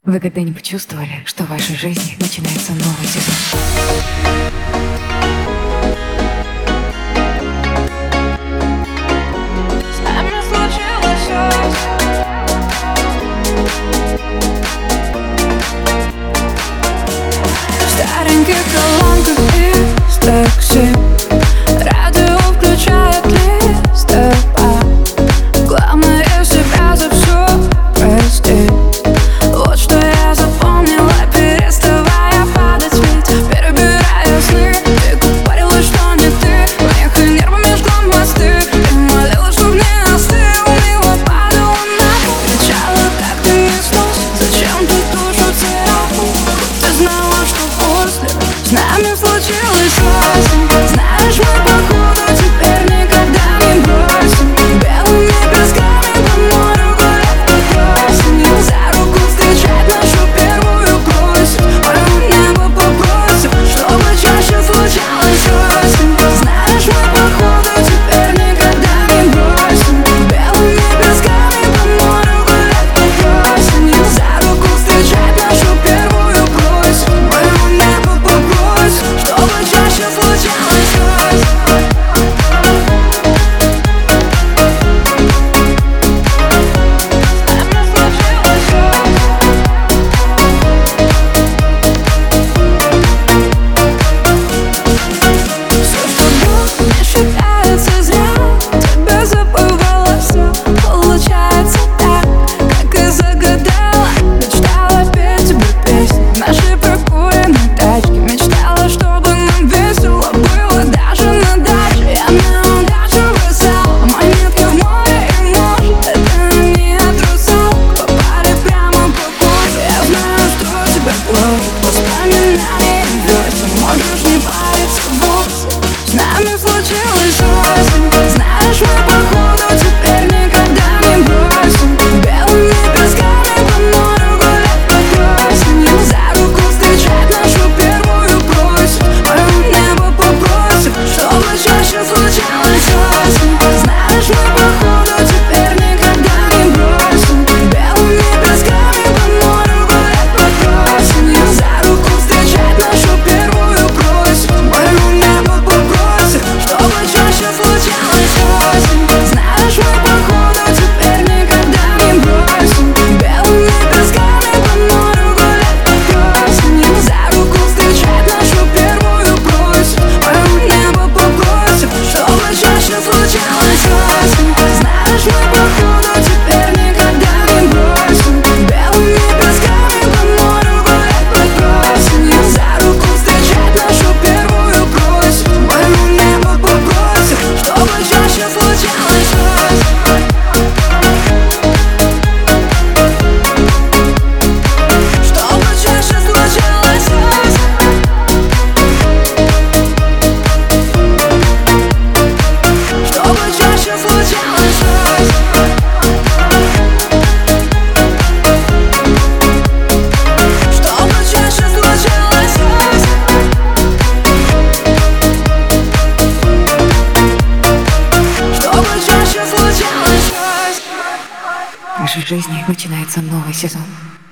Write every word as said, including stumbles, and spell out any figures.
Вы когда-нибудь чувствовали, что в вашей жизни начинается новый сезон? С нами случилось всё. В стареньких колонках из такси радио включает листопад. Главное себя за всё простить. Вот что я запомнила, переставая падать, ведь перебирая сны. Ты говорила, что не ты, ехали нервами, жгла мосты. Ты молила, чтоб не остыл, мило падала на пол. Кричала, как ты не снос, зачем ты душу царапал? Ты знала, что после с нами случилось осень. Знаешь, мы походу теперь никогда не бросим. Белыми песками по морю гулять под осенью. За руку встречать нашу первую просим. Мое небо попросим, чтобы чаще случалось осень. Знаешь, мы походу теперь никогда не бросим. Белыми песками по морю гулять под осенью. За руку встречать нашу первую просим. Мое небо попросим, чтобы чаще случалось осень. Не считается зря, тебя забывала все. Получается так, как и загадала. Мечтала петь тебе песни в нашей прокуренной тачке. Мечтала, чтобы нам весело было даже на даче. Я на удачу бросала монетки в море, и может это не от русалок попали прямо по коже. Я знаю, что тебя гложет воспоминания и весен. Можешь не париться вовсе. С нами случилось осень. Знаешь, мы походу теперь никогда не бросим. Белыми песками по морю гулять под осенью. За руку встречать нашу первую просим. Мое небо попросим, чтобы чаще случалось осень. Знаешь, мы походу теперь никогда не бросим. Белыми песками по морю гулять под осенью. За руку встречать нашу первую просим. Мое небо попросим, чтобы чаще случалось осень. Знаешь, мы походу теперь никогда не бросим. Белыми песками по морю гулять под осенью. За руку встречать нашу первую просим. Мое небо попросим, чтобы чаще случалось осень. Знаешь, мы походу теперь никогда не бросим. Белыми песками по морю гулять под осенью. За руку встречать нашу первую просим. Мое небо попросим, чтобы чаще случалось осень. Чтобы чаще случалось осень. Чтобы чаще случалось осень. Чтобы чаще случалось осень. Чтобы чаще случалось осень. В вашей жизни начинается новый сезон.